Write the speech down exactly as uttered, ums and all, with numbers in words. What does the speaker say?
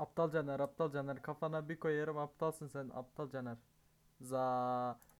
Aptal Caner, aptal Caner, kafana bir koyarım, aptalsın sen, aptal Caner. Za